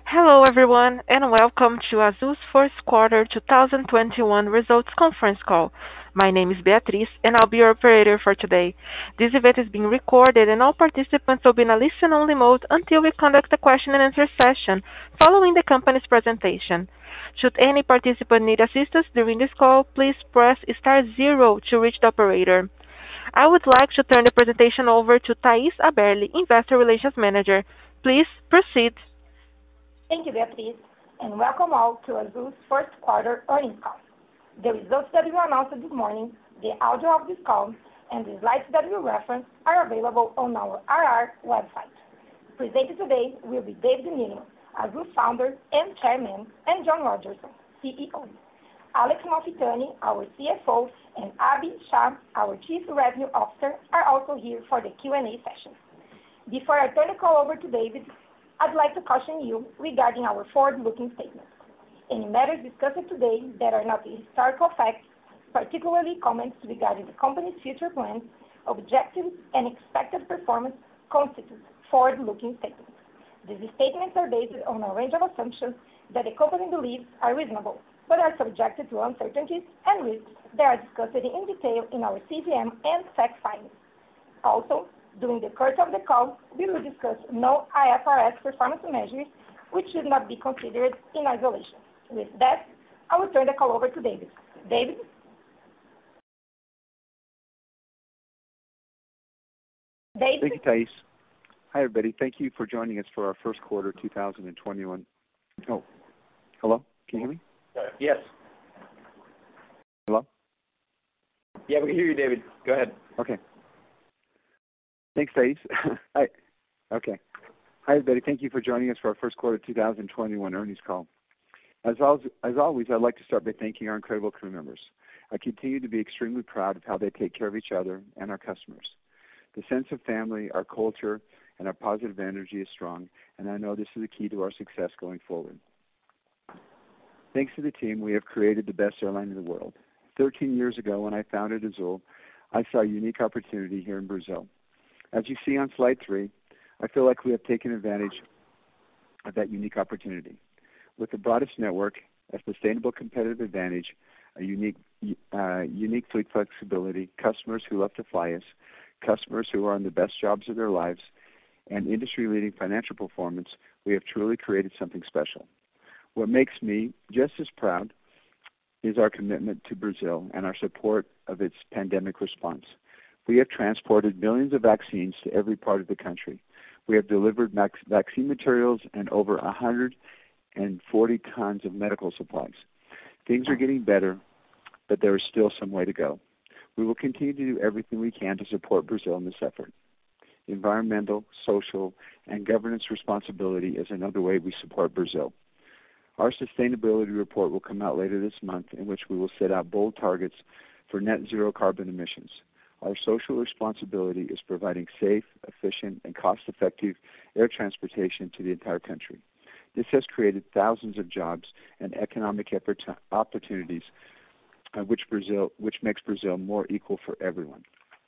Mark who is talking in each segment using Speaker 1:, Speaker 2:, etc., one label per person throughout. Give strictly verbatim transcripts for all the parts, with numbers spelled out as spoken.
Speaker 1: Hello, everyone, and welcome to Azul's first quarter two thousand twenty-one results conference call. My name is Beatriz, and I'll be your operator for today. This event is being recorded, and all participants will be in a listen-only mode until we conduct a question-and-answer session following the company's presentation. Should any participant need assistance during this call, please press star zero to reach the operator. I would like to turn the presentation over to Thais Haberli, Investor Relations Manager. Please proceed.
Speaker 2: Thank you, Beatriz, and welcome all to Azul's first quarter earnings call. The results that we announced this morning, the audio of this call, and the slides that we reference are available on our I R website. Presenting today will be David Neeleman, Azul's founder and chairman, and John Rodgerson, C E O. Alex Malfitani, our C F O, and Abhi Shah, our Chief Revenue Officer, are also here for the Q and A session. Before I turn the call over to David, I'd like to caution you regarding our forward-looking statements. Any matters discussed today that are not historical facts, particularly comments regarding the company's future plans, objectives, and expected performance, constitute forward-looking statements. These statements are based on a range of assumptions that the company believes are reasonable, but are subjected to uncertainties and risks that are discussed in detail in our C V M and S E C filings. Also, during the course of the call, we will discuss no I F R S performance measures, which should not be considered in isolation. With that, I will turn the call over to David. David? David?
Speaker 3: Thank you, Thais. Hi, everybody. Thank you for joining us for our first quarter two thousand twenty-one. Oh, hello? Can you hear me?
Speaker 4: Yes.
Speaker 3: Hello?
Speaker 4: Yeah, we can hear you, David. Go ahead.
Speaker 3: Okay. Thanks, Thais. Hi. Okay. Hi, everybody. Thank you for joining us for our first quarter two thousand twenty-one earnings call. As always, as always, I'd like to start by thanking our incredible crew members. I continue to be extremely proud of how they take care of each other and our customers. The sense of family, our culture, and our positive energy is strong, and I know this is the key to our success going forward. Thanks to the team, we have created the best airline in the world. thirteen years ago, when I founded Azul, I saw a unique opportunity here in Brazil. As you see on slide three, I feel like we have taken advantage of that unique opportunity. With the broadest network, a sustainable competitive advantage, a unique, uh, unique fleet flexibility, customers who love to fly us, customers who are on the best jobs of their lives, and industry-leading financial performance, we have truly created something special. What makes me just as proud is our commitment to Brazil and our support of its pandemic response. We have transported millions of vaccines to every part of the country. We have delivered vac- vaccine materials and over one hundred forty tons of medical supplies. Things are getting better, but there is still some way to go. We will continue to do everything we can to support Brazil in this effort. Environmental, social, and governance responsibility is another way we support Brazil. Our sustainability report will come out later this month, in which we will set out bold targets for net zero carbon emissions. Our social responsibility is providing safe, efficient, and cost-effective air transportation to the entire country. This has created thousands of jobs and economic opportunities, uh, which Brazil, which makes Brazil more equal for everyone.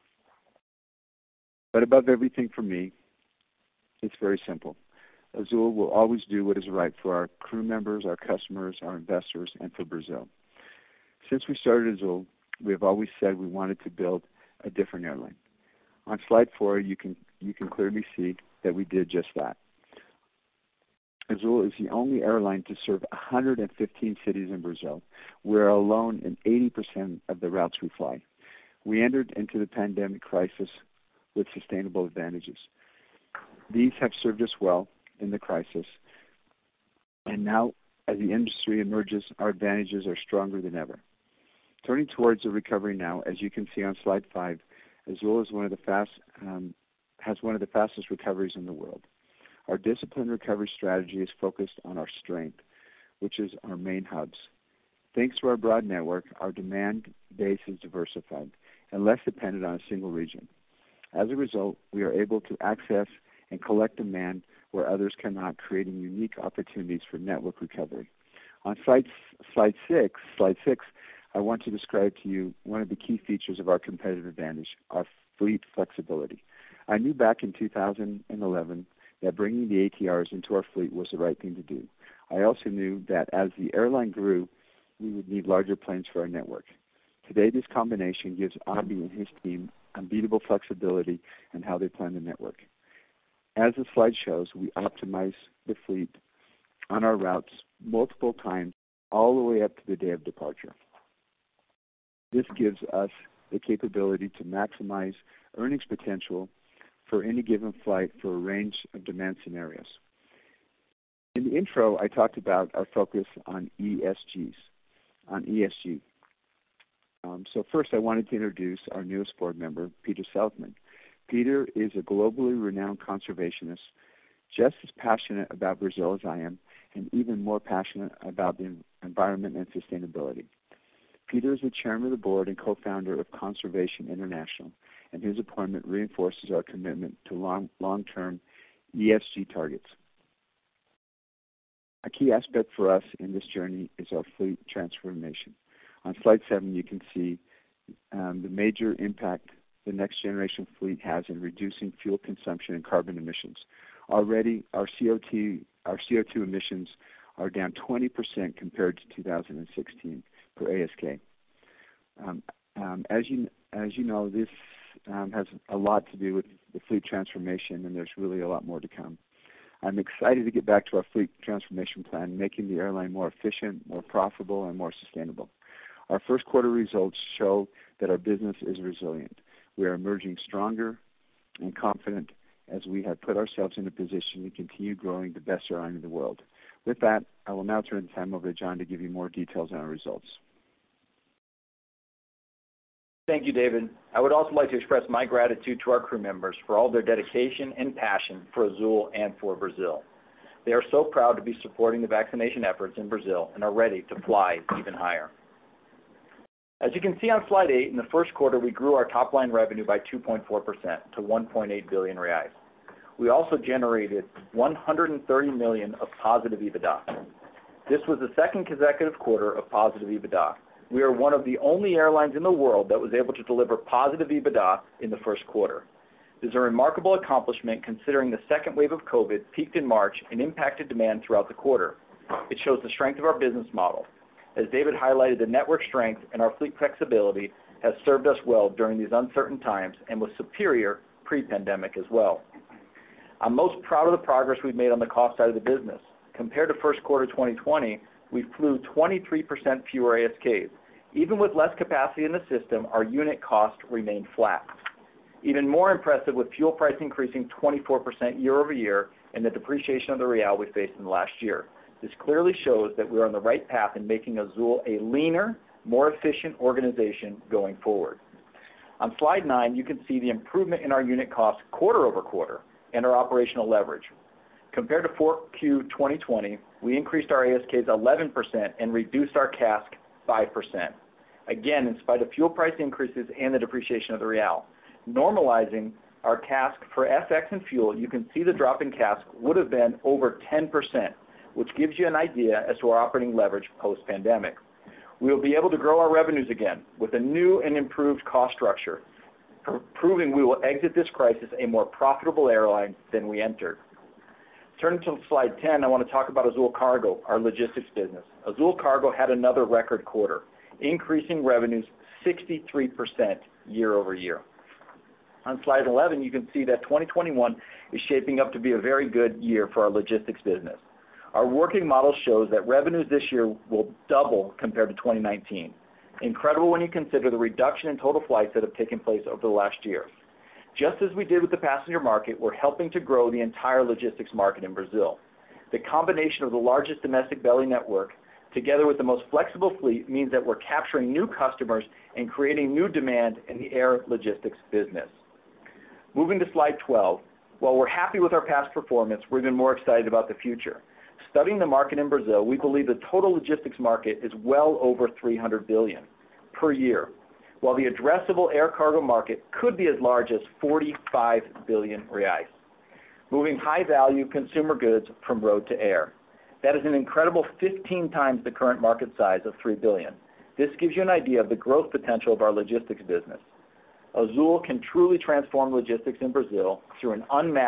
Speaker 3: But above everything for me, it's very simple. Azul will always do what is right for our crew members, our customers, our investors, and for Brazil. Since we started Azul, we have always said we wanted to build a different airline. On slide four, you can you can clearly see that we did just that. Azul is the only airline to serve one hundred fifteen cities in Brazil. We're alone in eighty percent of the routes we fly. We entered into the pandemic crisis with sustainable advantages. These have served us well in the crisis, and now, as the industry emerges, our advantages are stronger than ever. Turning towards the recovery now, as you can see on slide five, Azul is one of the fast um, has one of the fastest recoveries in the world. Our disciplined recovery strategy is focused on our strength, which is our main hubs. Thanks to our broad network, our demand base is diversified and less dependent on a single region. As a result, we are able to access and collect demand where others cannot, creating unique opportunities for network recovery. On slide, slide six, slide six, I want to describe to you one of the key features of our competitive advantage, our fleet flexibility. I knew back in two thousand eleven that bringing the A T Rs into our fleet was the right thing to do. I also knew that as the airline grew, we would need larger planes for our network. Today, this combination gives Abhi and his team unbeatable flexibility in how they plan the network. As the slide shows, we optimize the fleet on our routes multiple times all the way up to the day of departure. This gives us the capability to maximize earnings potential for any given flight for a range of demand scenarios. In the intro, I talked about our focus on E S Gs, on E S G. Um, so first, I wanted to introduce our newest board member, Peter Seligman. Peter is a globally renowned conservationist, just as passionate about Brazil as I am, and even more passionate about the environment and sustainability. Peter is the chairman of the board and co-founder of Conservation International, and his appointment reinforces our commitment to long, long-term E S G targets. A key aspect for us in this journey is our fleet transformation. On slide seven, you can see um, the major impact the next generation fleet has in reducing fuel consumption and carbon emissions. Already, our C O two, our C O two emissions are down twenty percent compared to two thousand sixteen per A S K. Um, um, as you as you know, this um, has a lot to do with the fleet transformation, and there's really a lot more to come. I'm excited to get back to our fleet transformation plan, making the airline more efficient, more profitable, and more sustainable. Our first quarter results show that our business is resilient. We are emerging stronger and confident as we have put ourselves in a position to continue growing the best airline in the world. With that, I will now turn the time over to John to give you more details on our results.
Speaker 4: Thank you, David. I would also like to express my gratitude to our crew members for all their dedication and passion for Azul and for Brazil. They are so proud to be supporting the vaccination efforts in Brazil and are ready to fly even higher. As you can see on slide eight, in the first quarter, we grew our top-line revenue by two point four percent to one point eight billion reais. We also generated one hundred thirty million of positive EBITDA. This was the second consecutive quarter of positive EBITDA. We are one of the only airlines in the world that was able to deliver positive EBITDA in the first quarter. This is a remarkable accomplishment considering the second wave of COVID peaked in March and impacted demand throughout the quarter. It shows the strength of our business model. As David highlighted, the network strength and our fleet flexibility has served us well during these uncertain times and was superior pre-pandemic as well. I'm most proud of the progress we've made on the cost side of the business. Compared to first quarter twenty twenty, we flew twenty-three percent fewer A S Ks. Even with less capacity in the system, our unit cost remained flat. Even more impressive, with fuel price increasing twenty-four percent year over year and the depreciation of the real we faced in the last year. This clearly shows that we are on the right path in making Azul a leaner, more efficient organization going forward. On slide nine, you can see the improvement in our unit costs quarter over quarter and our operational leverage. Compared to four Q twenty twenty, we increased our A S Ks eleven percent and reduced our C A S K five percent. Again, in spite of fuel price increases and the depreciation of the real. Normalizing our C A S K for F X and fuel, you can see the drop in C A S K would have been over ten percent, which gives you an idea as to our operating leverage post-pandemic. We will be able to grow our revenues again with a new and improved cost structure, pr- proving we will exit this crisis a more profitable airline than we entered. Turning to slide ten, I want to talk about Azul Cargo, our logistics business. Azul Cargo had another record quarter, increasing revenues sixty-three percent year over year. On slide eleven, you can see that twenty twenty-one is shaping up to be a very good year for our logistics business. Our working model shows that revenues this year will double compared to twenty nineteen. Incredible when you consider the reduction in total flights that have taken place over the last year. Just as we did with the passenger market, we're helping to grow the entire logistics market in Brazil. The combination of the largest domestic belly network together with the most flexible fleet means that we're capturing new customers and creating new demand in the air logistics business. Moving to slide twelve, while we're happy with our past performance, we're even more excited about the future. Studying the market in Brazil, we believe the total logistics market is well over three hundred billion dollars per year, while the addressable air cargo market could be as large as forty-five billion reais, moving high-value consumer goods from road to air. That is an incredible fifteen times the current market size of three billion dollars. This gives you an idea of the growth potential of our logistics business. Azul can truly transform logistics in Brazil through an unmatched,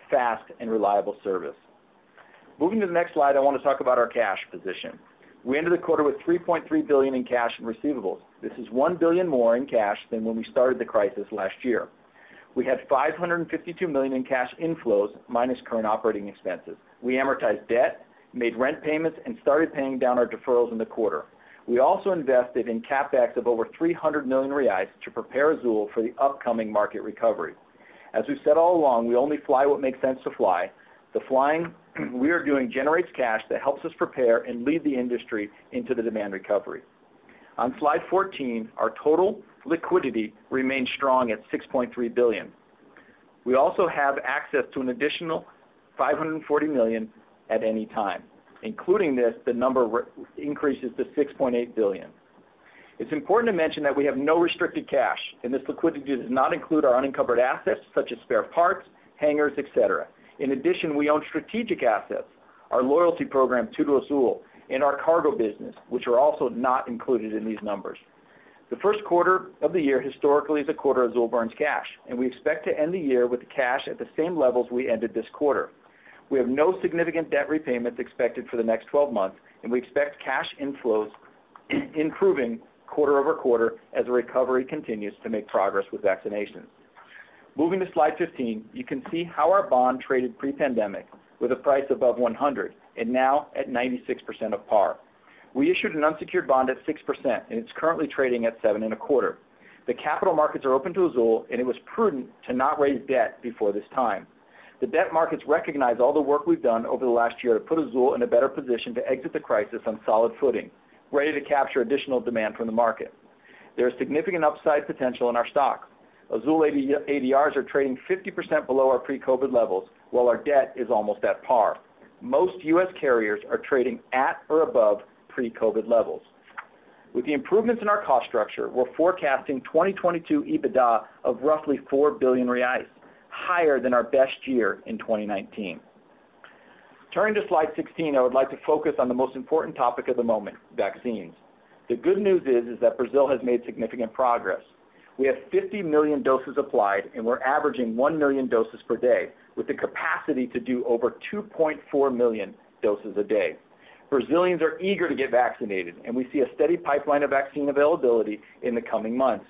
Speaker 4: fast, and reliable service. Moving to the next slide, I want to talk about our cash position. We ended the quarter with three point three billion dollars in cash and receivables. This is one billion dollars more in cash than when we started the crisis last year. We had five hundred fifty-two million dollars in cash inflows minus current operating expenses. We amortized debt, made rent payments, and started paying down our deferrals in the quarter. We also invested in CapEx of over three hundred million reais to prepare Azul for the upcoming market recovery. As we've said all along, we only fly what makes sense to fly. The flying we are doing generates cash that helps us prepare and lead the industry into the demand recovery. On slide fourteen, our total liquidity remains strong at six point three billion dollars. We also have access to an additional five hundred forty million dollars at any time. Including this, the number re- increases to six point eight billion dollars. It's important to mention that we have no restricted cash, and this liquidity does not include our unencumbered assets such as spare parts, hangars, et cetera. In addition, we own strategic assets, our loyalty program, Tudo Azul, and our cargo business, which are also not included in these numbers. The first quarter of the year historically is a quarter Azul burns cash, and we expect to end the year with cash at the same levels we ended this quarter. We have no significant debt repayments expected for the next twelve months, and we expect cash inflows improving quarter over quarter as the recovery continues to make progress with vaccinations. Moving to slide fifteen, you can see how our bond traded pre-pandemic with a price above one hundred and now at ninety-six percent of par. We issued an unsecured bond at six percent, and it's currently trading at seven and a quarter. The capital markets are open to Azul, and it was prudent to not raise debt before this time. The debt markets recognize all the work we've done over the last year to put Azul in a better position to exit the crisis on solid footing, ready to capture additional demand from the market. There is significant upside potential in our stock. Azul A D Rs are trading fifty percent below our pre-COVID levels, while our debt is almost at par. Most U S carriers are trading at or above pre-COVID levels. With the improvements in our cost structure, we're forecasting twenty twenty-two EBITDA of roughly four billion reais, higher than our best year in twenty nineteen. Turning to slide sixteen, I would like to focus on the most important topic of the moment, vaccines. The good news is, is that Brazil has made significant progress. We have fifty million doses applied, and we're averaging one million doses per day, with the capacity to do over two point four million doses a day. Brazilians are eager to get vaccinated, and we see a steady pipeline of vaccine availability in the coming months.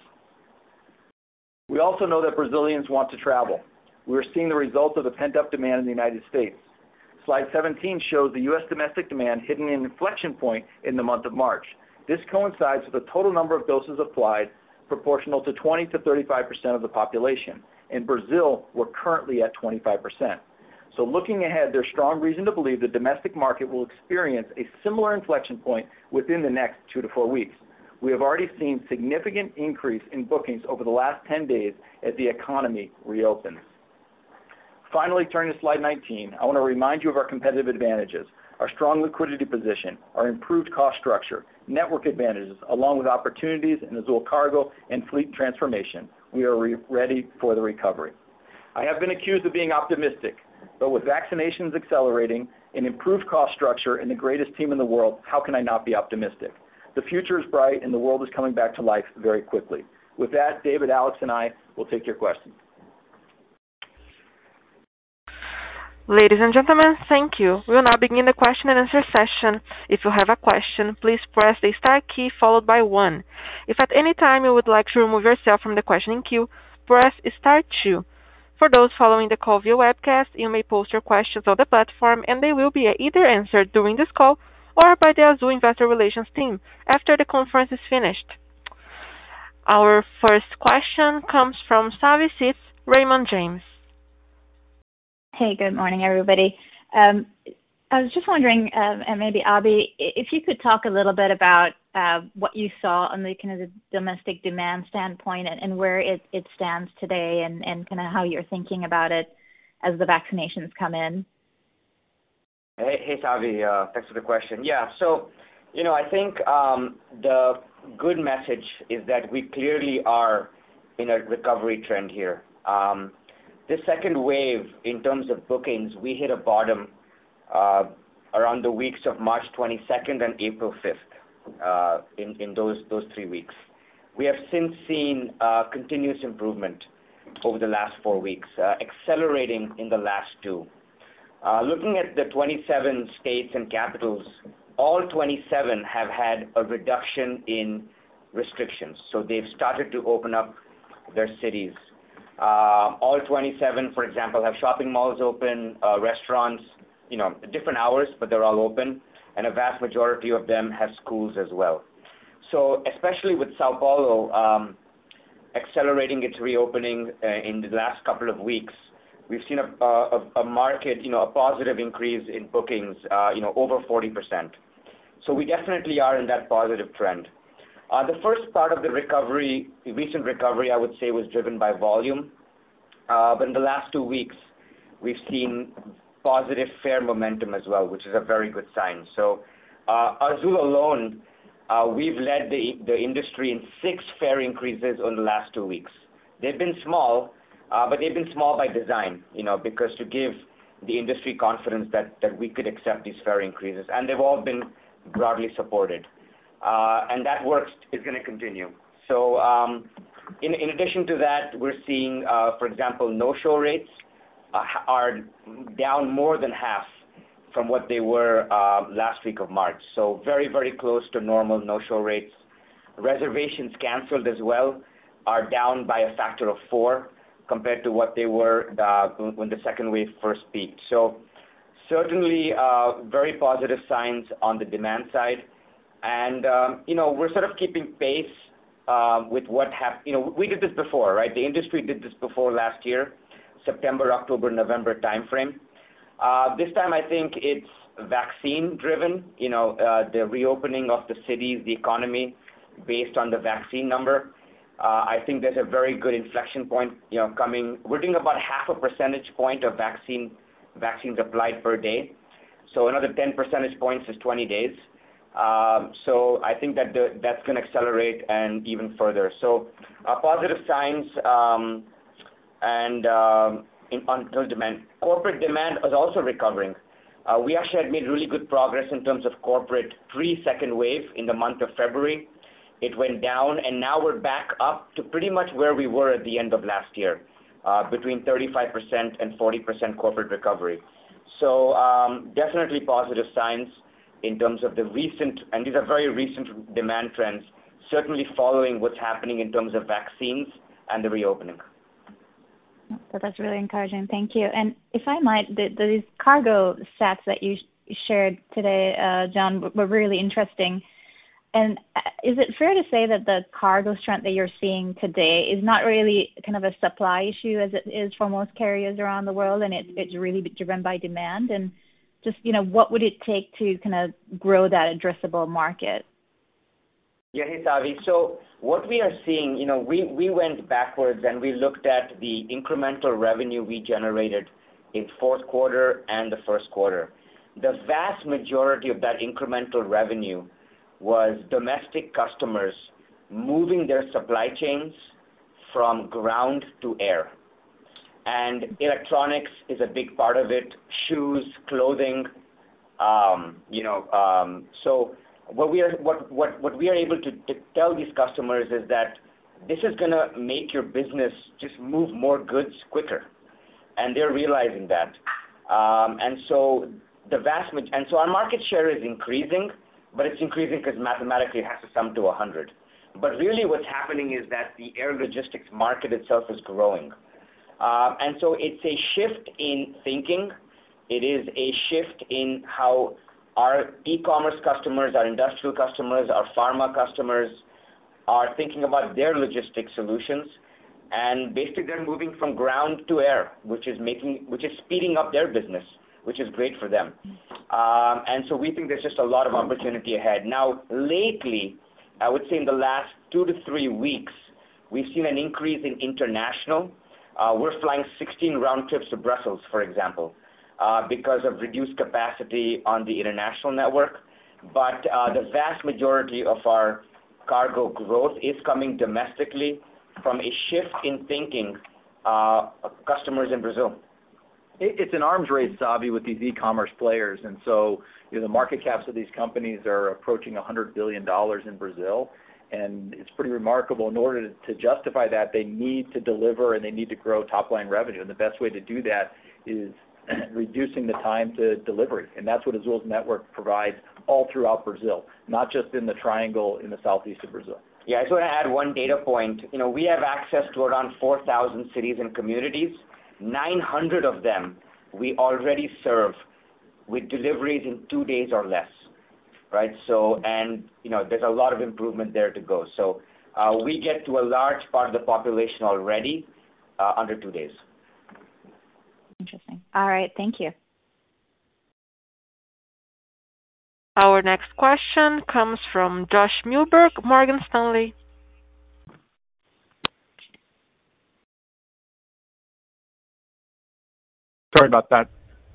Speaker 4: We also know that Brazilians want to travel. We are seeing the results of the pent-up demand in the United States. Slide seventeen shows the U S domestic demand hitting an inflection point in the month of March. This coincides with the total number of doses applied proportional to twenty to thirty-five percent of the population. In Brazil, we're currently at twenty-five percent. So looking ahead, there's strong reason to believe the domestic market will experience a similar inflection point within the next two to four weeks. We have already seen significant increase in bookings over the last ten days as the economy reopens. Finally, turning to slide nineteen, I want to remind you of our competitive advantages, our strong liquidity position, our improved cost structure, network advantages, along with opportunities in Azul Cargo and fleet transformation. We are re- ready for the recovery. I have been accused of being optimistic, but with vaccinations accelerating, an improved cost structure, and the greatest team in the world, how can I not be optimistic? The future is bright, and the world is coming back to life very quickly. With that, David, Alex, and I will take your questions.
Speaker 1: Ladies and gentlemen, thank you. We will now begin the question and answer session. If you have a question, please press the star key followed by one. If at any time you would like to remove yourself from the questioning queue, press star two. For those following the call via webcast, you may post your questions on the platform and they will be either answered during this call or by the Azul Investor Relations team after the conference is finished. Our first question comes from Savi Syth, Raymond James.
Speaker 5: Hey, good morning, everybody. Um, I was just wondering, um, and maybe Abhi, if you could talk a little bit about uh, what you saw on the kind of the domestic demand standpoint and, and where it, it stands today, and, and kind of how you're thinking about it as the vaccinations come in.
Speaker 6: Hey, hey Savi, uh, thanks for the question. Yeah, so, you know, I think um, the good message is that we clearly are in a recovery trend here. Um, This second wave, in terms of bookings, we hit a bottom uh, around the weeks of March twenty-second and April fifth, uh, in, in those, those three weeks. We have since seen uh, continuous improvement. over the last four weeks, uh, accelerating in the last two. Uh, looking at the twenty-seven states and capitals, all twenty-seven have had a reduction in restrictions. So they've started to open up their cities. Uh, all twenty-seven, for example, have shopping malls open, uh, restaurants, you know, different hours, but they're all open, and a vast majority of them have schools as well. So especially with Sao Paulo um, accelerating its reopening uh, in the last couple of weeks, we've seen a, a, a market, you know, a positive increase in bookings, uh, you know, over forty percent. So we definitely are in that positive trend. Uh, the first part of the recovery, the recent recovery, I would say, was driven by volume. Uh, but in the last two weeks, we've seen positive fare momentum as well, which is a very good sign. So uh, Azul alone, uh, we've led the, the industry in six fare increases in the last two weeks. They've been small, uh, but they've been small by design, you know, because to give the industry confidence that, that we could accept these fare increases. And they've all been broadly supported. Uh, and that work is going to continue. So um, in, in addition to that, we're seeing, uh, for example, no-show rates uh, are down more than half from what they were uh, last week of March. So very, very close to normal no-show rates. Reservations canceled as well are down by a factor of four compared to what they were uh, when the second wave first peaked. So certainly uh, very positive signs on the demand side. And, um, you know, we're sort of keeping pace uh, with what happened. You know, we did this before, right? The industry did this before last year, September, October, November timeframe. Uh, this time I think it's vaccine-driven, you know, uh, the reopening of the cities, the economy, based on the vaccine number. Uh, I think there's a very good inflection point, you know, coming. We're doing about half a percentage point of vaccine vaccines applied per day. So another ten percentage points is twenty days. Um, so I think that the, that's going to accelerate and even further. So uh, positive signs um, and um, in, on demand. Corporate demand is also recovering. Uh, we actually had made really good progress in terms of corporate pre-second wave in the month of February. It went down, and now we're back up to pretty much where we were at the end of last year, uh, between thirty-five percent and forty percent corporate recovery. So um, definitely positive signs in terms of the recent, and these are very recent demand trends, certainly following what's happening in terms of vaccines and the reopening.
Speaker 5: So that's really encouraging. Thank you. And if I might, the, the, these cargo stats that you sh- shared today, uh, John, were, were really interesting. And is it fair to say that the cargo strength that you're seeing today is not really kind of a supply issue as it is for most carriers around the world, and it, it's really driven by demand? And just, you know, what would it take to kind of grow that addressable market?
Speaker 6: Yeah, hey, Savi. So what we are seeing, you know, we, we went backwards and we looked at the incremental revenue we generated in fourth quarter and the first quarter. The vast majority of that incremental revenue was domestic customers moving their supply chains from ground to air. And electronics is a big part of it, shoes, clothing, um, you know. Um, so what we are what, what, what we are able to, to tell these customers is that this is going to make your business just move more goods quicker, and they're realizing that. Um, and so the vast and so our market share is increasing, but it's increasing because mathematically it has to sum to one hundred. But really, what's happening is that the air logistics market itself is growing. Uh, and so it's a shift in thinking. It is a shift in how our e-commerce customers, our industrial customers, our pharma customers are thinking about their logistics solutions. And basically they're moving from ground to air, which is making, which is speeding up their business, which is great for them. Um, and so we think there's just a lot of opportunity ahead. Now, lately, I would say in the last two to three weeks, we've seen an increase in international. Uh, we're flying sixteen round trips to Brussels, for example, uh, because of reduced capacity on the international network. But uh, the vast majority of our cargo growth is coming domestically from a shift in thinking uh, of customers in Brazil.
Speaker 4: It's an arms race, Savi, with these e-commerce players. And so, you know, the market caps of these companies are approaching one hundred billion dollars in Brazil. and it's pretty remarkable. In order to, to justify that, they need to deliver and they need to grow top-line revenue, and the best way to do that is reducing the time to delivery, and that's what Azul's network provides all throughout Brazil, not just in the triangle in the southeast of Brazil.
Speaker 6: Yeah, I just want to add one data point. You know, we have access to around four thousand cities and communities. nine hundred of them we already serve with deliveries in two days or less, right? So, and, you know, there's a lot of improvement there to go. So uh, we get to a large part of the population already uh, under two days.
Speaker 5: Interesting. All right, thank you.
Speaker 1: Our next question comes from Josh Milberg, Morgan Stanley.
Speaker 7: Sorry about that.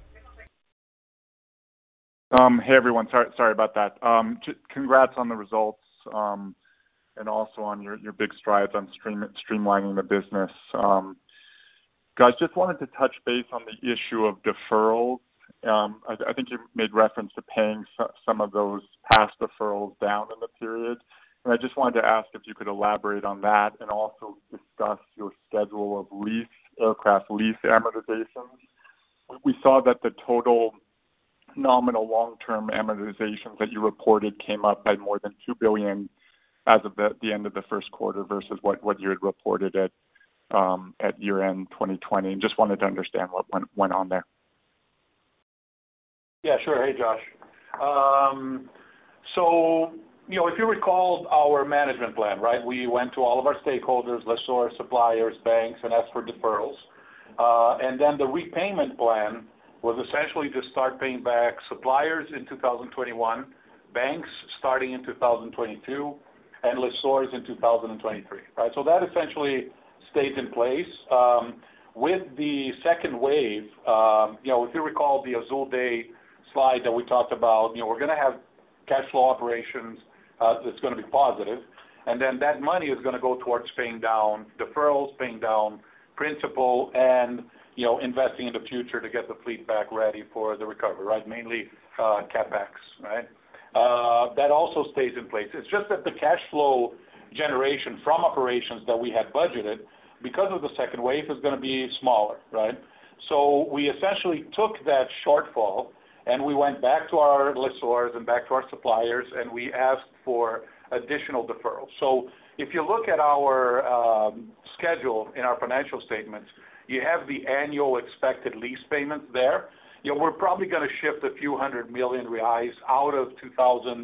Speaker 7: Um, hey, everyone. Sorry, sorry about that. Um, j- congrats on the results um, and also on your, your big strides on stream, streamlining the business. Um, guys, just wanted to touch base on the issue of deferrals. Um, I, I think you made reference to paying so, some of those past deferrals down in the period. And I just wanted to ask if you could elaborate on that and also discuss your schedule of lease, aircraft lease amortizations. We saw that the total nominal long-term amortizations that you reported came up by more than two billion dollars as of the, the end of the first quarter versus what, what you had reported at um, at year-end twenty twenty. And just wanted to understand what went, went on there.
Speaker 8: Yeah, sure. Hey, Josh. Um, so, you know, if you recall our management plan, right, we went to all of our stakeholders, lessors, suppliers, banks, and asked for deferrals. Uh, and then the repayment plan was essentially to start paying back suppliers in two thousand twenty-one, banks starting in two thousand twenty-two, and lessors in two thousand twenty-three, right? So that essentially stayed in place. Um, with the second wave, um, you know, if you recall the Azul Day slide that we talked about, you know, we're going to have cash flow operations uh, that's going to be positive, and then that money is going to go towards paying down deferrals, paying down principal, and, you know, investing in the future to get the fleet back ready for the recovery, right? Mainly uh, CapEx, right? Uh, that also stays in place. It's just that the cash flow generation from operations that we had budgeted because of the second wave is going to be smaller, right? So we essentially took that shortfall and we went back to our lessors and back to our suppliers and we asked for additional deferrals. So if you look at our um, schedule in our financial statements, you have the annual expected lease payments there. You know, we're probably going to shift a few hundred million reais out of two thousand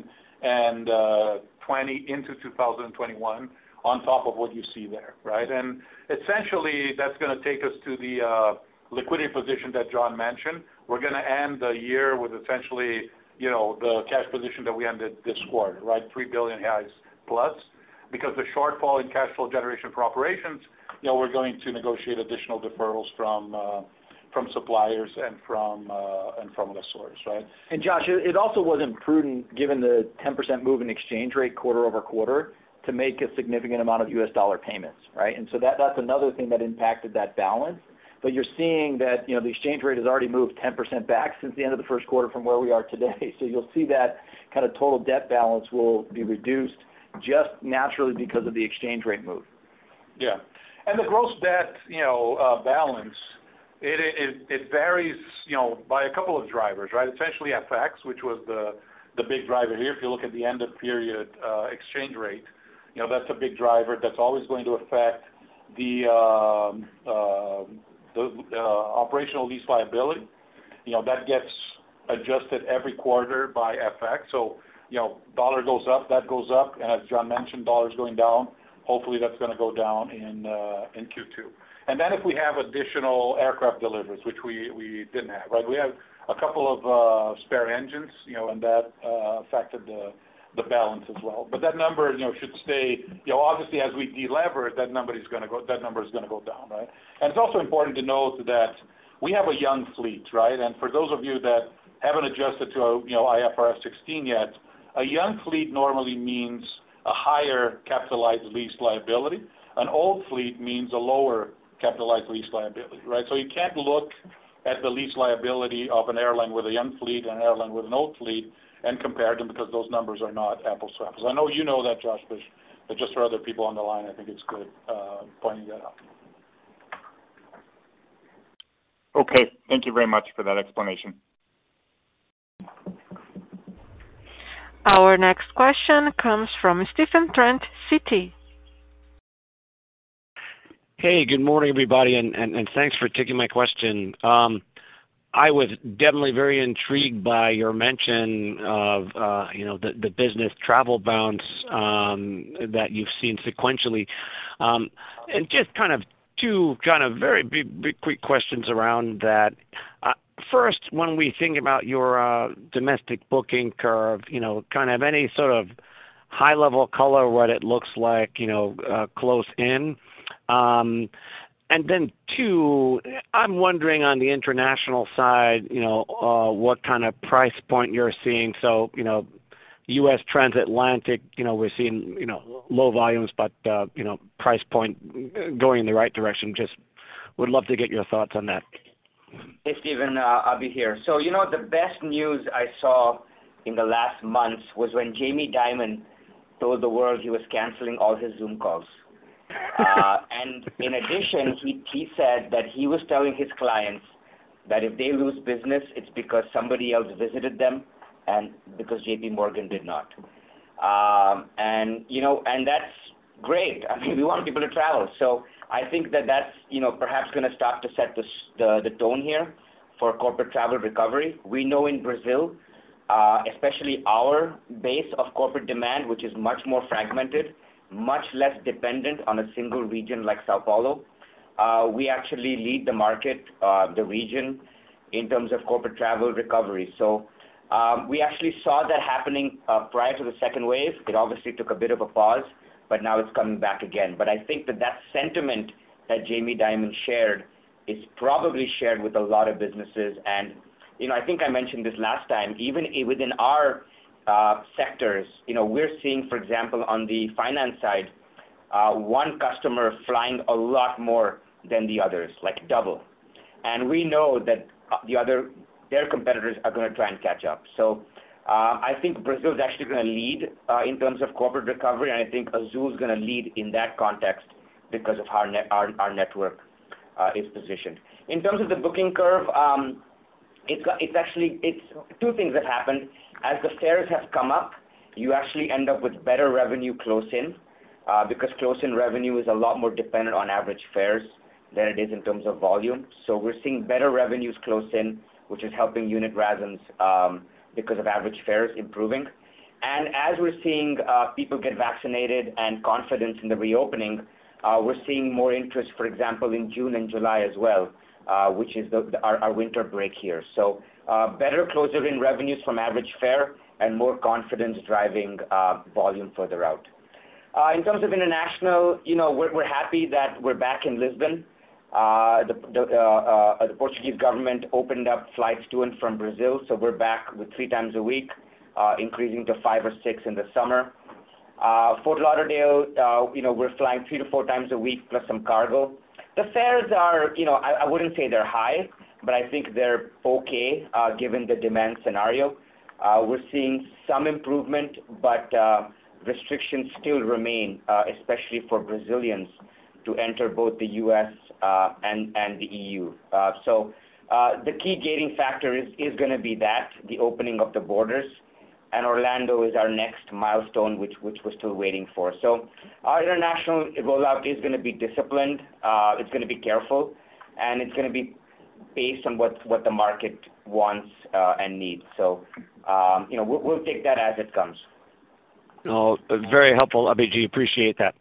Speaker 8: twenty into two thousand twenty-one on top of what you see there, right? And essentially, that's going to take us to the uh, liquidity position that John mentioned. We're going to end the year with essentially, you know, the cash position that we ended this quarter, right? Three billion reais plus, because the shortfall in cash flow generation for operations, you know, we're going to negotiate additional deferrals from uh, from suppliers and from uh, and from lessors, right?
Speaker 4: And Josh, it also wasn't prudent, given the ten percent move in exchange rate quarter over quarter, to make a significant amount of U S dollar payments, right? And so that that's another thing that impacted that balance. But you're seeing that, you know, the exchange rate has already moved ten percent back since the end of the first quarter from where we are today. So you'll see that kind of total debt balance will be reduced just naturally because of the exchange rate move.
Speaker 8: Yeah. And the gross debt, you know, uh, balance, it, it it varies, you know, by a couple of drivers, right? Essentially F X, which was the the big driver here. If you look at the end of period uh, exchange rate, you know, that's a big driver. That's always going to affect the um, uh, the uh, operational lease liability. You know, that gets adjusted every quarter by F X. So, you know, dollar goes up, that goes up, and as John mentioned, dollar's going down. Hopefully that's going to go down in uh, in Q two. And then if we have additional aircraft deliveries, which we, we didn't have, right? We have a couple of uh, spare engines, you know, and that uh, affected the the balance as well. But that number, you know, should stay, you know, obviously as we delever, that number is going to go, that number is going to go down, right? And it's also important to note that we have a young fleet, right? And for those of you that haven't adjusted to, a, you know, I F R S sixteen yet, a young fleet normally means a higher capitalized lease liability. An old fleet means a lower capitalized lease liability, right? So you can't look at the lease liability of an airline with a young fleet and an airline with an old fleet and compare them because those numbers are not apples to apples. I know you know that, Josh, but But just for other people on the line, I think it's good uh, pointing that out.
Speaker 7: Okay. Thank you very much for that explanation.
Speaker 1: Our next question comes from Stephen Trent, Citi.
Speaker 9: Hey, good morning, everybody, and, and, and thanks for taking my question. Um, I was definitely very intrigued by your mention of, uh, you know, the, the business travel bounce um, that you've seen sequentially. Um, and just kind of two kind of very big, big quick questions around that. Uh, first, when we think about your uh, domestic booking curve, you know, kind of any sort of high-level color, what it looks like, you know, uh, close in. Um, and then two, I'm wondering on the international side, you know, uh, what kind of price point you're seeing. So, you know, U S transatlantic, you know, we're seeing, you know, low volumes, but, uh, you know, price point going in the right direction. Just would love to get your thoughts on that.
Speaker 6: Hey, Stephen, uh, I'll be here. So, you know, the best news I saw in the last months was when Jamie Dimon told the world he was canceling all his Zoom calls. Uh, and in addition, he, he said that he was telling his clients that if they lose business, it's because somebody else visited them and because J P Morgan did not. Um, and, you know, and that's great. I mean, we want people to travel. So I think that that's, you know, perhaps going to start to set the, the, the tone here for corporate travel recovery. We know in Brazil, uh, especially our base of corporate demand, which is much more fragmented, much less dependent on a single region like Sao Paulo. Uh, we actually lead the market, uh, the region, in terms of corporate travel recovery. So um, we actually saw that happening uh, prior to the second wave. It obviously took a bit of a pause, but now it's coming back again. But I think that that sentiment that Jamie Dimon shared is probably shared with a lot of businesses. And, you know, I think I mentioned this last time, even within our Uh, sectors, you know, we're seeing, for example, on the finance side, uh, one customer flying a lot more than the others, like double. And we know that the other, their competitors are going to try and catch up. So uh, I think Brazil is actually going to lead uh, in terms of corporate recovery, and I think Azul is going to lead in that context because of how net, our, our network uh, is positioned. In terms of the booking curve, um, it's, it's actually, it's two things have happened. As the fares have come up, you actually end up with better revenue close in, uh, because close in revenue is a lot more dependent on average fares than it is in terms of volume. So we're seeing better revenues close in, which is helping unit R A S Ms um, because of average fares improving. And as we're seeing uh, people get vaccinated and confidence in the reopening, uh, we're seeing more interest, for example, in June and July as well, uh, which is the, the, our, our winter break here. So uh, better closer in revenues from average fare and more confidence driving uh, volume further out. Uh, in terms of international, you know, we're, we're happy that we're back in Lisbon. Uh, the, the, uh, uh, the Portuguese government opened up flights to and from Brazil, so we're back with three times a week, uh, increasing to five or six in the summer. Uh, Fort Lauderdale, uh, you know, we're flying three to four times a week plus some cargo. The fares are, you know, I, I wouldn't say they're high, but I think they're okay uh, given the demand scenario. Uh, we're seeing some improvement, but uh, restrictions still remain, uh, especially for Brazilians to enter both the U S uh, and, and the E U. Uh, so uh, the key gating factor is, is going to be that, the opening of the borders, and Orlando is our next milestone, which, which we're still waiting for. So our international rollout is going to be disciplined, uh, it's going to be careful, and it's going to be based on what, what the market wants uh, and needs. So, um, you know, we'll, we'll take that as it comes.
Speaker 9: Oh, very helpful, Abhijit. Appreciate that.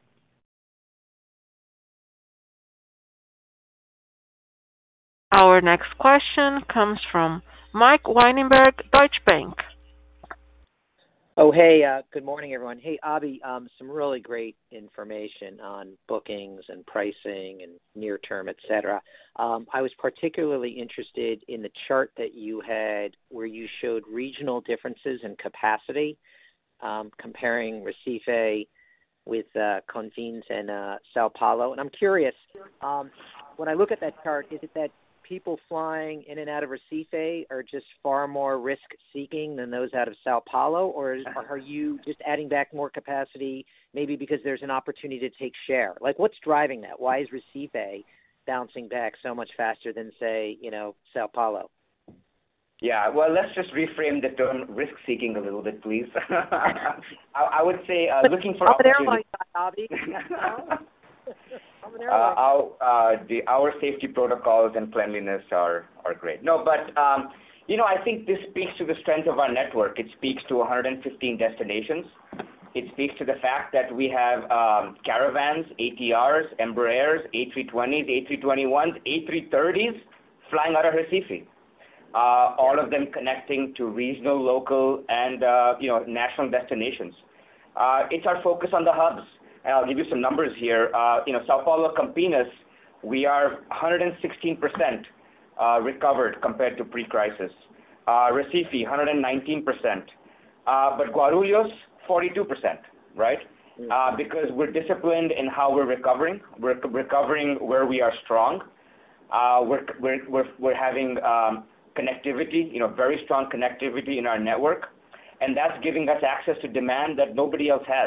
Speaker 1: Our next question comes from Mike Weinberg, Deutsche Bank.
Speaker 10: Oh, hey, uh, good morning, everyone. Hey, Abhi, um, some really great information on bookings and pricing and near term, et cetera. Um, I was particularly interested in the chart that you had where you showed regional differences in capacity, um, comparing Recife with uh, Confins and uh, Sao Paulo. And I'm curious, um, when I look at that chart, is it that people flying in and out of Recife are just far more risk-seeking than those out of Sao Paulo, or is, are you just adding back more capacity maybe because there's an opportunity to take share? Like, what's driving that? Why is Recife bouncing back so much faster than, say, you know, Sao Paulo?
Speaker 6: Yeah, well, let's just reframe the term risk-seeking a little bit, please. I, I would say uh, looking for opportunity. Uh, our, uh, the, our safety protocols and cleanliness are, are great. No, but, um, you know, I think this speaks to the strength of our network. It speaks to one hundred fifteen destinations. It speaks to the fact that we have um, Caravans, A T Rs, Embraers, A three twenties, A three twenty-ones, A three thirties flying out of Recife. Uh, all of them connecting to regional, local, and, uh, you know, national destinations. Uh, it's our focus on the hubs. And I'll give you some numbers here. Uh, you know, Sao Paulo, Campinas, we are one hundred sixteen percent uh, recovered compared to pre-crisis. Uh, Recife, one hundred nineteen percent. Uh, but Guarulhos, forty-two percent, right? Uh, because we're disciplined in how we're recovering. We're recovering where we are strong. Uh, we're, we're, we're, we're having um, connectivity, you know, very strong connectivity in our network. And that's giving us access to demand that nobody else has.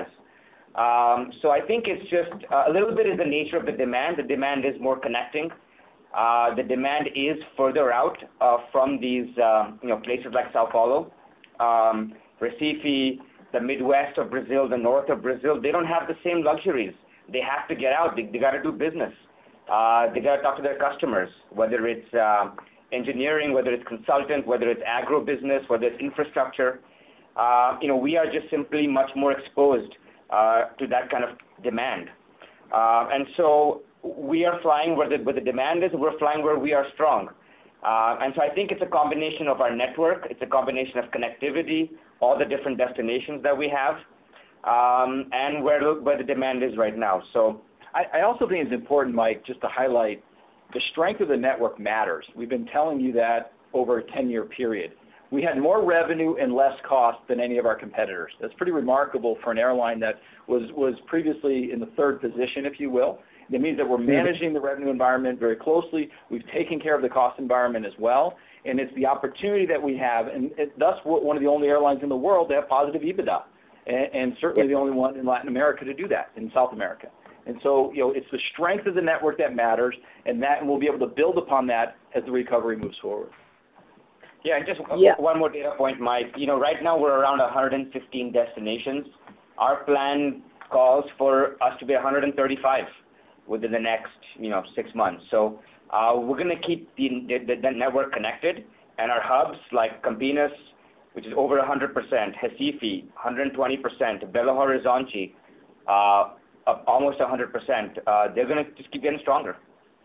Speaker 6: Um, so I think it's just uh, a little bit is the nature of the demand. The demand is more connecting. Uh, the demand is further out uh, from these, uh, you know, places like Sao Paulo, um, Recife, the Midwest of Brazil, the north of Brazil. They don't have the same luxuries. They have to get out. They, they got to do business. Uh, they got to talk to their customers, whether it's uh, engineering, whether it's consultant, whether it's agro-business, whether it's infrastructure. Uh, you know, we are just simply much more exposed Uh, to that kind of demand. Uh, and so we are flying where the, where the demand is, we're flying where we are strong. Uh, and so I think it's a combination of our network, it's a combination of connectivity, all the different destinations that we have, um, and where, where the demand is right now. So
Speaker 4: I, I also think it's important, Mike, just to highlight the strength of the network matters. We've been telling you that over a ten-year period. We had more revenue and less cost than any of our competitors. That's pretty remarkable for an airline that was, was previously in the third position, if you will. That means that we're managing the revenue environment very closely. We've taken care of the cost environment as well. And it's the opportunity that we have, and it, thus we're one of the only airlines in the world to have positive EBITDA, and, and certainly the only one in Latin America to do that, in South America. And so, you know, it's the strength of the network that matters, and that and we'll be able to build upon that as the recovery moves forward.
Speaker 6: Yeah, and just
Speaker 10: yeah.
Speaker 6: one more data point, Mike. You know, right now we're around one hundred fifteen destinations. Our plan calls for us to be one hundred thirty-five within the next, you know, six months. So uh, we're going to keep the, the, the network connected, and our hubs like Campinas, which is over one hundred percent, Recife, one hundred twenty percent, Belo Horizonte, uh, almost one hundred percent. Uh, they're going to just keep getting stronger.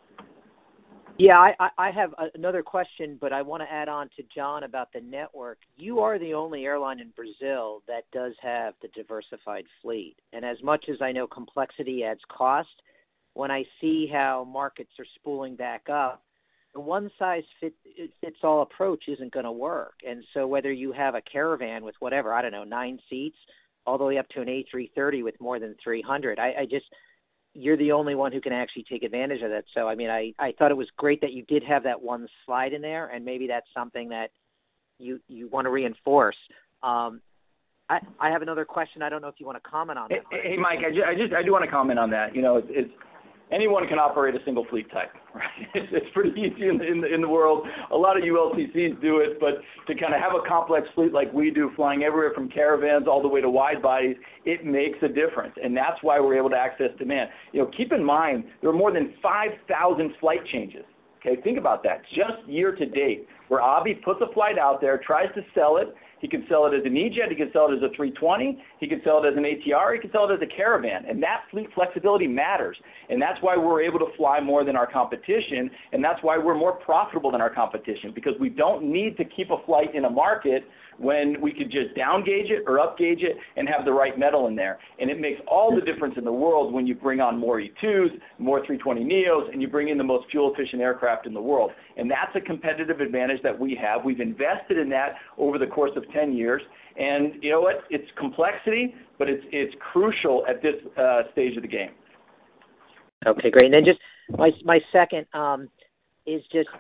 Speaker 10: Yeah, I, I have another question, but I want to add on to John about the network. You are the only airline in Brazil that does have the diversified fleet. And as much as I know complexity adds cost, when I see how markets are spooling back up, the one-size-fits-all approach isn't going to work. And so whether you have a Caravan with whatever, I don't know, nine seats, all the way up to an A three thirty with more than three hundred, I, I just – you're the only one who can actually take advantage of that. So, I mean, I, I thought it was great that you did have that one slide in there, and maybe that's something that you, you want to reinforce. Um, I, I have another question. I don't know if you want to comment on that.
Speaker 4: Hey, hey Mike, I just, I just I do want to comment on that. You know, it's, it's anyone can operate a single fleet type, right? It's, it's pretty easy in the, in the in the world. A lot of U L C Cs do it, but to kind of have a complex fleet like we do, flying everywhere from Caravans all the way to wide bodies, it makes a difference, and that's why we're able to access demand. You know, keep in mind there are more than five thousand flight changes. Okay, think about that. Just year to date, where Abhi puts a flight out there, tries to sell it. He can sell it as an E-Jet. He can sell it as a three twenty. He can sell it as an A T R. He can sell it as a Caravan. And that fleet flexibility matters. And that's why we're able to fly more than our competition. And that's why we're more profitable than our competition, because we don't need to keep a flight in a market when we could just down gauge it or up gauge it and have the right metal in there. And it makes all the difference in the world when you bring on more E twos, more three twenty neos, and you bring in the most fuel-efficient aircraft in the world. And that's a competitive advantage that we have. We've invested in that over the course of ten years. And you know what? It's complexity, but it's it's crucial at this uh, stage of the game.
Speaker 10: Okay, great. And then just my my second um, is just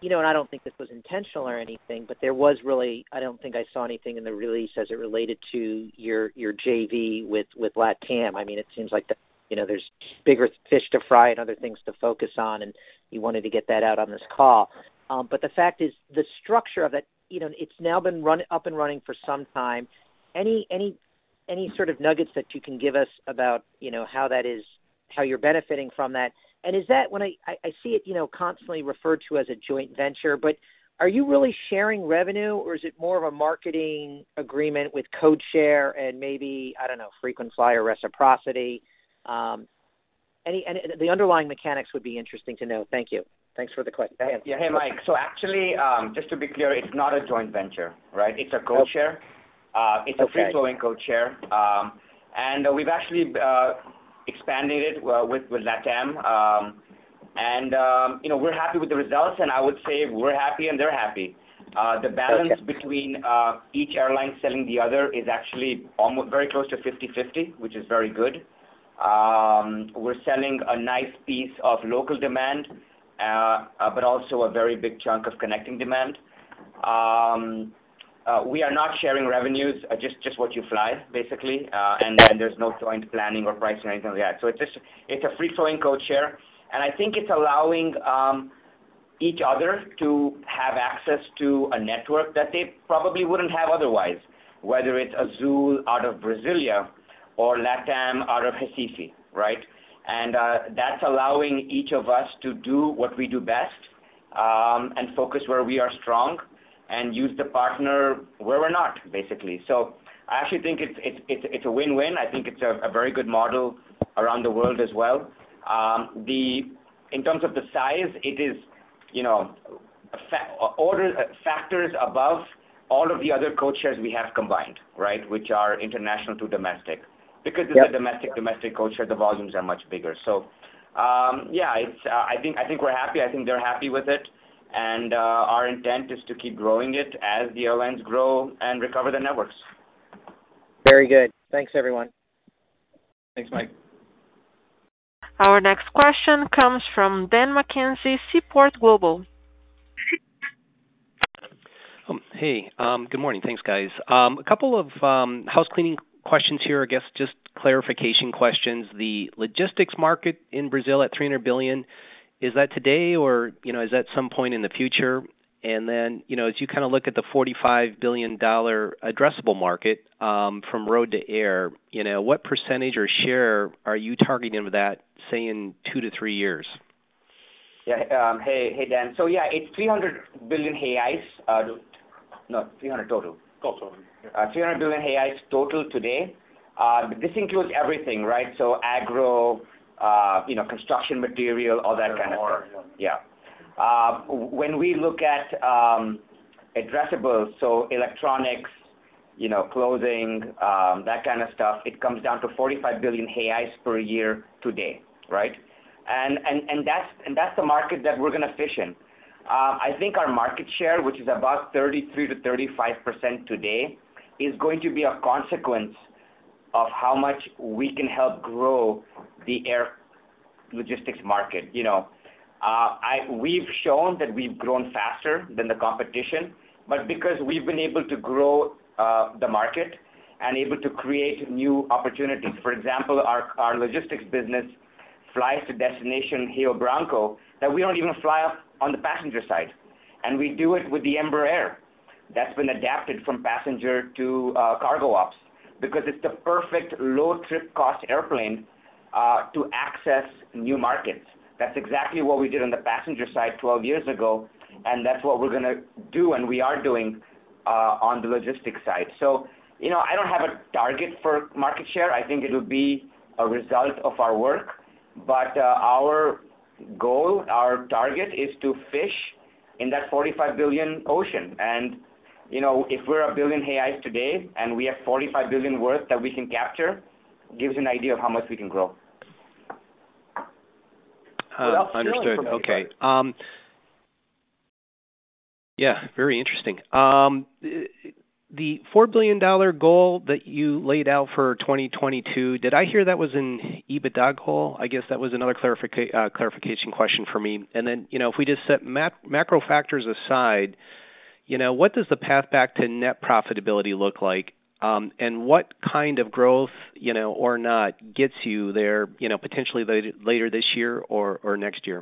Speaker 10: you know, and I don't think this was intentional or anything, but there was really, I don't think I saw anything in the release as it related to your your J V with with LATAM. I mean, it seems like the, you know, there's bigger fish to fry and other things to focus on, and you wanted to get that out on this call. Um, but the fact is, the structure of it, you know, it's now been run up and running for some time. Any any any sort of nuggets that you can give us about, you know, how that is, how you're benefiting from that? And is that, when I, I, I see it, you know, constantly referred to as a joint venture, but are you really sharing revenue, or is it more of a marketing agreement with code share and maybe, I don't know, frequent flyer reciprocity? Um, any, and the underlying mechanics would be interesting to know. Thank you. Thanks for the question.
Speaker 6: Yeah, hey, Mike. So actually, um, just to be clear, it's not a joint venture, right? It's a code share. Uh, it's a
Speaker 10: Okay.
Speaker 6: free-flowing code share. Um, and uh, we've actually uh, expanded it uh, with, with LATAM. Um, and, um, you know, we're happy with the results, and I would say we're happy and they're happy. Uh, the balance
Speaker 10: Okay.
Speaker 6: between uh, each airline selling the other is actually almost very close to fifty-fifty, which is very good. Um, we're selling a nice piece of local demand, uh, uh, but also a very big chunk of connecting demand. Um, uh, we are not sharing revenues, uh, just, just what you fly, basically, uh, and, and there's no joint planning or pricing or anything like that. So it's just, it's a free-flowing code share, and I think it's allowing um, each other to have access to a network that they probably wouldn't have otherwise, whether it's Azul out of Brasilia or LATAM out of Recife, right? And uh, that's allowing each of us to do what we do best um, and focus where we are strong and use the partner where we're not, basically. So I actually think it's it's it's, it's a win-win. I think it's a, a very good model around the world as well. Um, the in terms of the size, it is, you know, fa- order uh, factors above all of the other code shares we have combined, right, which are international to domestic. Because it's
Speaker 10: Yep.
Speaker 6: a domestic domestic code share, the volumes are much bigger. So, um, yeah, it's. Uh, I think I think we're happy. I think they're happy with it, and uh, our intent is to keep growing it as the airlines grow and recover the networks.
Speaker 10: Very good. Thanks, everyone.
Speaker 4: Thanks, Mike.
Speaker 1: Our next question comes from Dan McKenzie, Seaport Global.
Speaker 11: Um, hey, um, good morning. Thanks, guys. Um, a couple of um, house cleaning questions here, I guess just clarification questions. The logistics market in Brazil at three hundred billion dollars, is that today, or, you know, is that some point in the future? And then, you know, as you kind of look at the forty-five billion dollars addressable market um, from road to air, you know, what percentage or share are you targeting of that, say, in two to three years?
Speaker 6: Yeah. Um, hey, hey, Dan. So yeah, it's three hundred billion reais. Uh, no, three hundred total.
Speaker 8: Total.
Speaker 6: Uh, three hundred billion reais total today. Uh, this includes everything, right? So agro, uh, you know, construction material, all that kind of stuff. Yeah. Uh, when we look at um, addressables, so electronics, you know, clothing, um, that kind of stuff, it comes down to forty-five billion reais per year today, right? And and and that's and that's the market that we're going to fish in. Uh, I think our market share, which is about thirty-three to thirty-five percent today, is going to be a consequence of how much we can help grow the air logistics market. You know, uh, I we've shown that we've grown faster than the competition, but because we've been able to grow uh, the market and able to create new opportunities. For example, our our logistics business flies to destination Rio Branco that we don't even fly up on the passenger side. And we do it with the Embraer. That's been adapted from passenger to uh, cargo ops because it's the perfect low trip cost airplane uh, to access new markets. That's exactly what we did on the passenger side twelve years ago, and that's what we're going to do, and we are doing uh, on the logistics side. So, you know, I don't have a target for market share. I think it will be a result of our work. But uh, our goal, our target is to fish in that forty-five billion ocean. And, you know, if we're a billion reais today and we have forty-five billion worth that we can capture, gives an idea of how much we can grow.
Speaker 11: Uh, understood. Okay. Um, yeah, very interesting. Um, the four billion dollars goal that you laid out for twenty twenty-two, did I hear that was an EBITDA goal? I guess that was another clarifica- uh, clarification question for me. And then, you know, if we just set mat- macro factors aside, you know, what does the path back to net profitability look like? Um, and what kind of growth, you know, or not, gets you there, you know, potentially later, later this year or, or next year?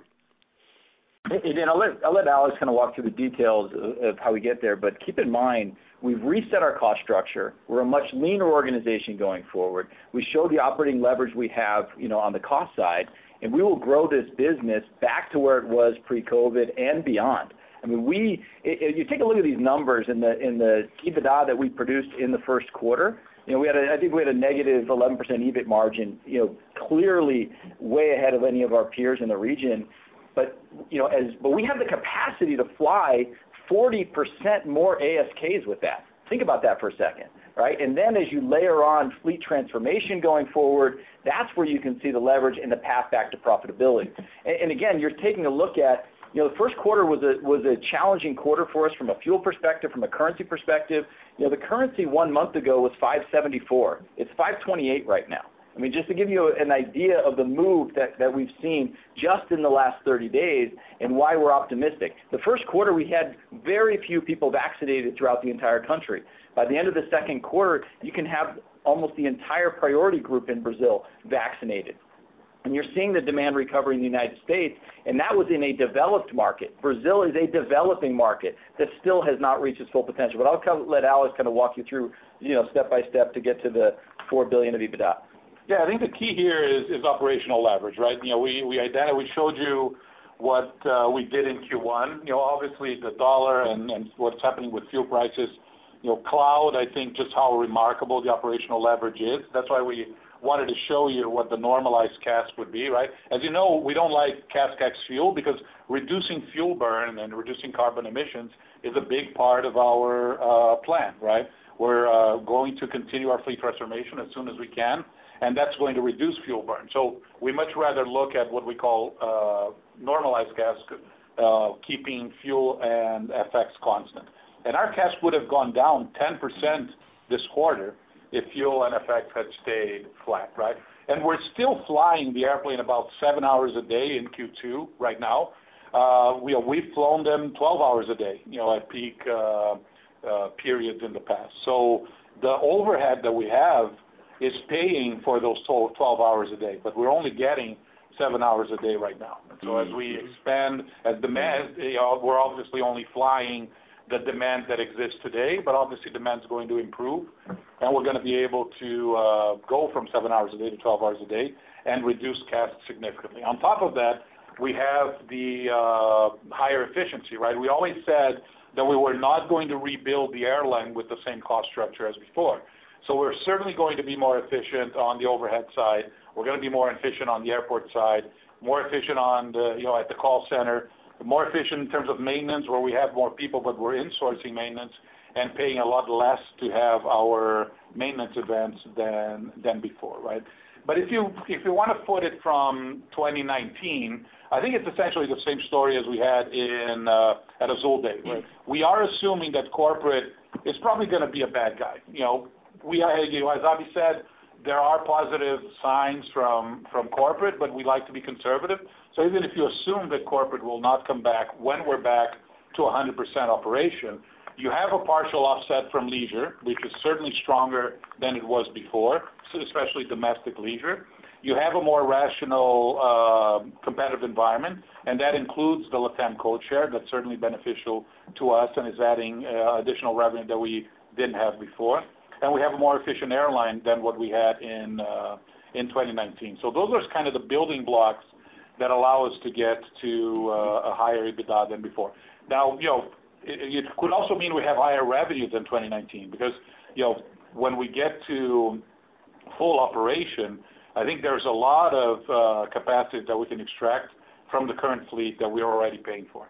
Speaker 4: And then I'll let, I'll let Alex kind of walk through the details of, of how we get there. But keep in mind, we've reset our cost structure. We're a much leaner organization going forward. We show the operating leverage we have, you know, on the cost side, and we will grow this business back to where it was pre-COVID and beyond. I mean, we if you take a look at these numbers in the in the EBITDA that we produced in the first quarter. You know, we had a, I think we had a negative eleven percent E B I T margin. You know, clearly way ahead of any of our peers in the region. But you know, as but we have the capacity to fly forty percent more A S Ks with that. Think about that for a second, right? And then as you layer on fleet transformation going forward, that's where you can see the leverage and the path back to profitability. And, and again, you're taking a look at, you know, the first quarter was a was a challenging quarter for us from a fuel perspective, from a currency perspective. You know, the currency one month ago was five seventy-four. It's five twenty-eight right now. I mean, just to give you an idea of the move that, that we've seen just in the last thirty days and why we're optimistic. The first quarter, we had very few people vaccinated throughout the entire country. By the end of the second quarter, you can have almost the entire priority group in Brazil vaccinated. And you're seeing the demand recovery in the United States, and that was in a developed market. Brazil is a developing market that still has not reached its full potential. But I'll come, let Alex kind of walk you through, you know, step by step to get to the four billion dollars of EBITDA.
Speaker 8: Yeah, I think the key here is, is operational leverage, right? You know, we we identified, we showed you what uh, we did in Q one. You know, obviously the dollar and, and what's happening with fuel prices. You know, cloud, I think just how remarkable the operational leverage is. That's why we wanted to show you what the normalized C A S K would be, right? As you know, we don't like C A S K ex fuel because reducing fuel burn and reducing carbon emissions is a big part of our uh, plan, right? We're uh, going to continue our fleet transformation as soon as we can, and that's going to reduce fuel burn. So we much rather look at what we call uh, normalized C A S K, uh, keeping fuel and F X constant. And our C A S K would have gone down ten percent this quarter if fuel and F X had stayed flat, right? And we're still flying the airplane about seven hours a day in Q two right now. Uh, we, we've flown them twelve hours a day, you know, at peak uh, uh, periods in the past. So the overhead that we have is paying for those twelve hours a day, but we're only getting seven hours a day right now. And so as we expand, as demand, you know, we're obviously only flying the demand that exists today, but obviously demand is going to improve, and we're going to be able to uh, go from seven hours a day to twelve hours a day and reduce C A S K significantly. On top of that, we have the uh, higher efficiency, right? We always said that we were not going to rebuild the airline with the same cost structure as before. So we're certainly going to be more efficient on the overhead side. We're going to be more efficient on the airport side, more efficient on the, you know, at the call center, more efficient in terms of maintenance where we have more people, but we're insourcing maintenance and paying a lot less to have our maintenance events than than before, right? But if you if you want to put it from twenty nineteen, I think it's essentially the same story as we had in uh, at Azul Day. Right? We are assuming that corporate is probably going to be a bad guy. You know, we are, you know, as Abhi said, there are positive signs from from corporate, but we like to be conservative. So even if you assume that corporate will not come back when we're back to one hundred percent operation, you have a partial offset from leisure, which is certainly stronger than it was before, especially domestic leisure. You have a more rational uh, competitive environment, and that includes the LATAM code share. That's certainly beneficial to us and is adding uh, additional revenue that we didn't have before. And we have a more efficient airline than what we had in uh, in twenty nineteen. So those are kind of the building blocks that allow us to get to uh, a higher EBITDA than before. Now, you know, it, it could also mean we have higher revenue than twenty nineteen because, you know, when we get to full operation, I think there's a lot of uh, capacity that we can extract from the current fleet that we're already paying for.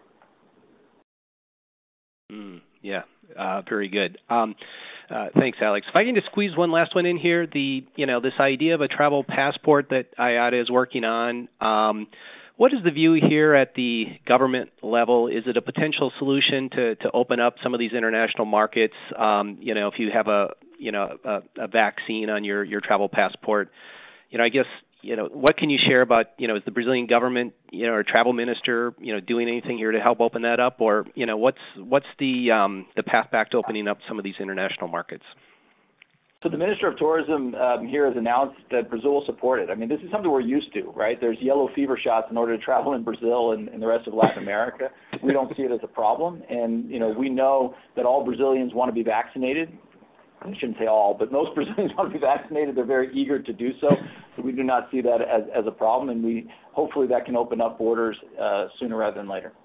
Speaker 11: Mm, yeah, uh, very good. Um, uh, thanks, Alex. If I can just squeeze one last one in here, the you know this idea of a travel passport that I A T A is working on. Um, what is the view here at the government level? Is it a potential solution to, to open up some of these international markets? Um, you know, if you have a you know a, a vaccine on your, your travel passport, you know, I guess you know what can you share about you know is the Brazilian government you know or travel minister you know doing anything here to help open that up, or you know what's what's the um, the path back to opening up some of these international markets?
Speaker 4: So the Minister of Tourism um, here has announced that Brazil will support it. I mean, this is something we're used to, right? There's yellow fever shots in order to travel in Brazil and, and the rest of Latin America. We don't see it as a problem. And, you know, we know that all Brazilians want to be vaccinated. I shouldn't say all, but most Brazilians want to be vaccinated. They're very eager to do so. So we do not see that as, as a problem. And we hopefully that can open up borders uh, sooner rather than later.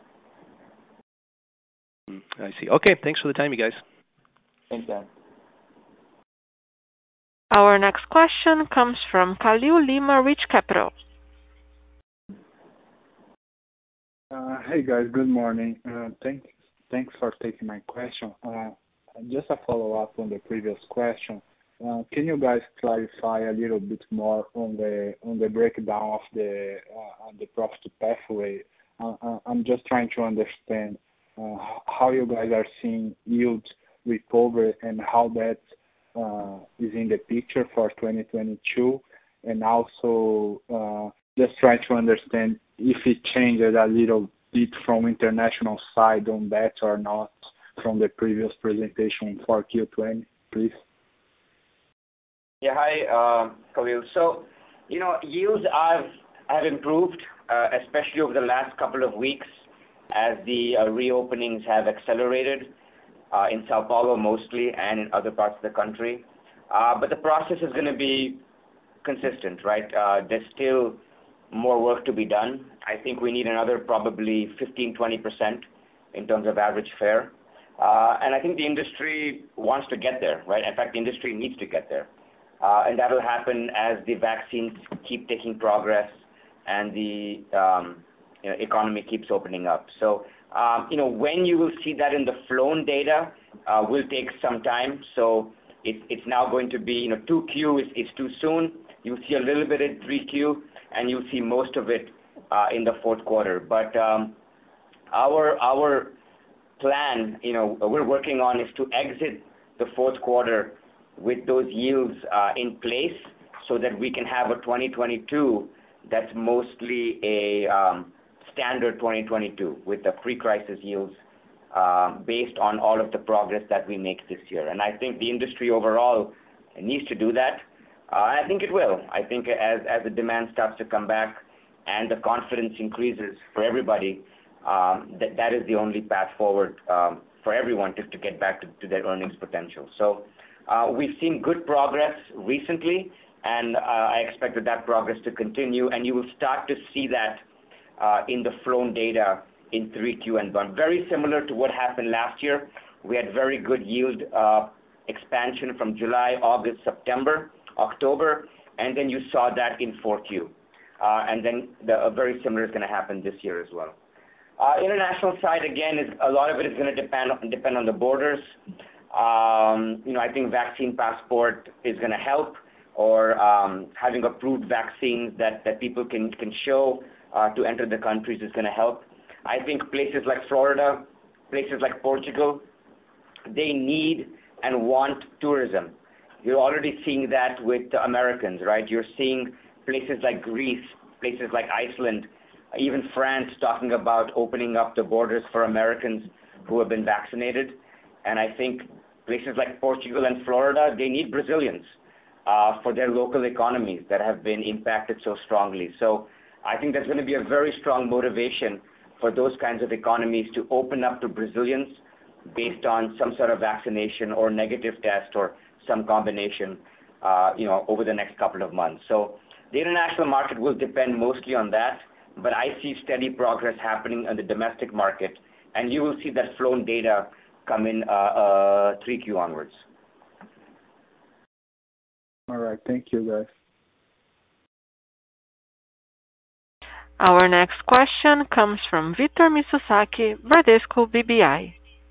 Speaker 11: I see. Okay. Thanks for the time, you guys.
Speaker 4: Thanks, Dan.
Speaker 1: Our next question comes from Khalil Lima, Rich Capital.
Speaker 12: Uh, hey guys, good morning. Uh, thanks, thanks for taking my question. Uh, just a follow-up on the previous question. Uh, can you guys clarify a little bit more on the on the breakdown of the uh, on the profit pathway? Uh, uh, I'm just trying to understand uh, how you guys are seeing yield recover and how that Uh, is in the picture for twenty twenty-two, and also uh, just try to understand if it changes a little bit from international side on that or not from the previous presentation for Q twenty, please.
Speaker 6: Yeah, hi, uh, Khalil. So, you know, yields have, have improved, uh, especially over the last couple of weeks as the uh, reopenings have accelerated. Uh, in Sao Paulo mostly and in other parts of the country. Uh, but the process is going to be consistent, right? Uh, there's still more work to be done. I think we need another probably fifteen, twenty percent in terms of average fare. Uh, and I think the industry wants to get there, right? In fact, the industry needs to get there. Uh, and that will happen as the vaccines keep taking progress and the um, you know, economy keeps opening up. So, Um, you know, when you will see that in the flown data uh, will take some time. So it, it's now going to be, you know, two Q is, is too soon. You'll see a little bit in three Q, and you'll see most of it uh, in the fourth quarter. But um, our our plan, you know, we're working on is to exit the fourth quarter with those yields uh, in place so that we can have a twenty twenty-two that's mostly a um, standard twenty twenty-two with the pre-crisis yields uh, based on all of the progress that we make this year. And I think the industry overall needs to do that. Uh, I think it will. I think as, as the demand starts to come back and the confidence increases for everybody, um, that, that is the only path forward um, for everyone to, to get back to, to their earnings potential. So uh, we've seen good progress recently, and uh, I expect that, that progress to continue, and you will start to see that Uh, in the flown data in three Q and beyond. Very similar to what happened last year. We had very good yield uh, expansion from July, August, September, October, and then you saw that in four Q. Uh, and then the, uh, very similar is going to happen this year as well. Uh, international side, again, is a lot of it is going to depend, depend on the borders. Um, you know, I think vaccine passport is going to help, or um, having approved vaccines that, that people can, can show Uh, to enter the countries is going to help. I think places like Florida, places like Portugal, they need and want tourism. You're already seeing that with the Americans, right? You're seeing places like Greece, places like Iceland, even France talking about opening up the borders for Americans who have been vaccinated. And I think places like Portugal and Florida, they need Brazilians uh, for their local economies that have been impacted so strongly. So I think there's going to be a very strong motivation for those kinds of economies to open up to Brazilians based on some sort of vaccination or negative test or some combination, uh, you know, over the next couple of months. So the international market will depend mostly on that, but I see steady progress happening in the domestic market, and you will see that flown data come in uh, uh, three Q onwards.
Speaker 12: All right, thank you, guys.
Speaker 1: Our next question comes from Victor Mizusaki, Bradesco B B I.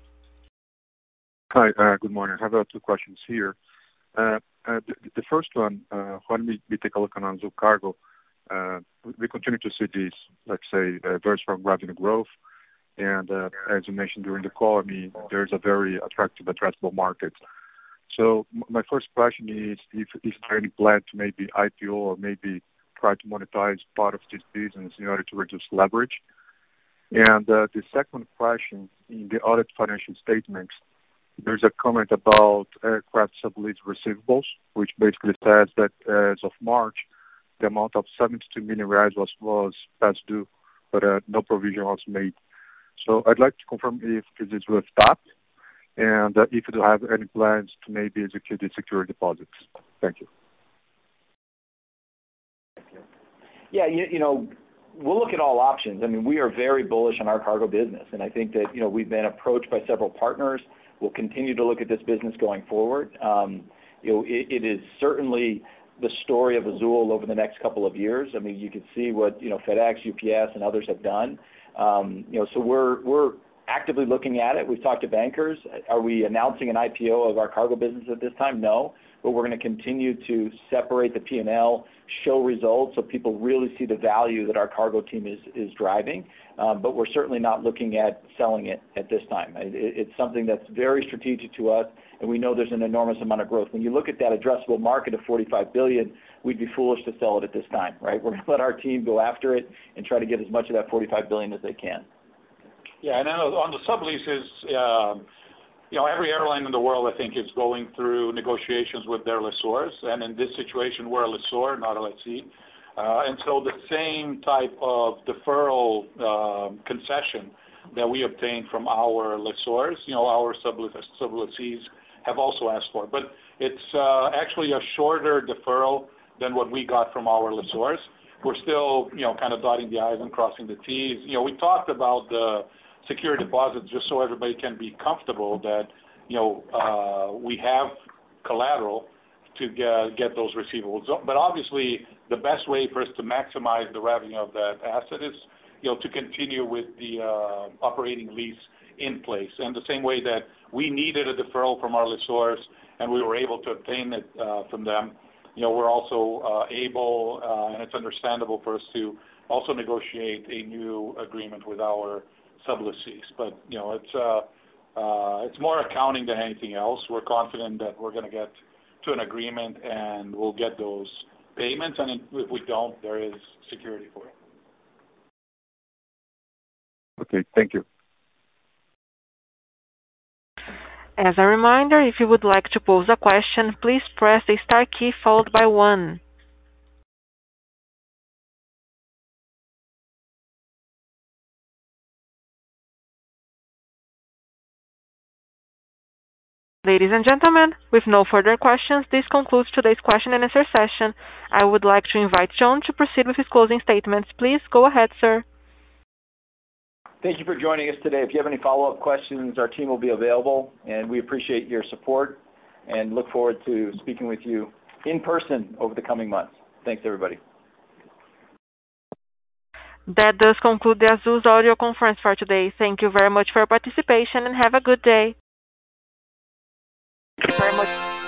Speaker 13: Hi, uh, good morning. I have uh, two questions here. Uh, uh, the, the first one, uh, when we, we take a look on Azul Cargo, Uh, we continue to see this, let's say, uh, very strong revenue growth. And uh, as you mentioned during the call, I mean, there's a very attractive addressable market. So m- my first question is if is there any plan to maybe I P O or maybe try to monetize part of this business in order to reduce leverage? And uh, the second question, in the audit financial statements, there's a comment about aircraft sublease receivables, which basically says that as of March, the amount of seventy-two million reais was, was past due, but uh, no provision was made. So I'd like to confirm if this is with T A P and uh, if you have any plans to maybe execute the security deposits. Thank you.
Speaker 4: Yeah, you, you know, we'll look at all options. I mean, we are very bullish on our cargo business, and I think that, you know, we've been approached by several partners. We'll continue to look at this business going forward. Um, you know, it, it is certainly the story of Azul over the next couple of years. I mean, you can see what, you know, FedEx, U P S, and others have done. Um, you know, so we're we're actively looking at it. We've talked to bankers. Are we announcing an I P O of our cargo business at this time? No, but we're going to continue to separate the P and L, show results so people really see the value that our cargo team is is driving. Um, but we're certainly not looking at selling it at this time. It, it's something that's very strategic to us, and we know there's an enormous amount of growth. When you look at that addressable market of forty-five billion dollars, we'd be foolish to sell it at this time, right? We're going to let our team go after it and try to get as much of that forty-five billion dollars as they can.
Speaker 8: Yeah, and then on the subleases, um, you know, every airline in the world, I think, is going through negotiations with their lessors, and in this situation, we're a lessor, not a lessee. Uh, and so the same type of deferral uh, concession that we obtained from our lessors, you know, our sublessees have also asked for. But it's uh, actually a shorter deferral than what we got from our lessors. We're still, you know, kind of dotting the I's and crossing the T's. You know, we talked about the security deposits just so everybody can be comfortable that, you know, uh, we have collateral to get, get those receivables. But obviously, the best way for us to maximize the revenue of that asset is, you know, to continue with the uh, operating lease in place. And the same way that we needed a deferral from our lessors and we were able to obtain it uh, from them, you know, we're also uh, able, uh, and it's understandable for us to also negotiate a new agreement with our sublessees. But, you know, it's uh, uh, it's more accounting than anything else. We're confident that we're going to get to an agreement and we'll get those payments, and if we don't, there is security for it.
Speaker 13: Okay, thank you.
Speaker 1: As a reminder, if you would like to pose a question, please press the star key followed by one. Ladies and gentlemen, with no further questions, this concludes today's question and answer session. I would like to invite John to proceed with his closing statements. Please go ahead, sir.
Speaker 4: Thank you for joining us today. If you have any follow-up questions, our team will be available, and we appreciate your support and look forward to speaking with you in person over the coming months. Thanks, everybody.
Speaker 1: That does conclude the Azul's audio conference for today. Thank you very much for your participation and have a good day. Thank you very much.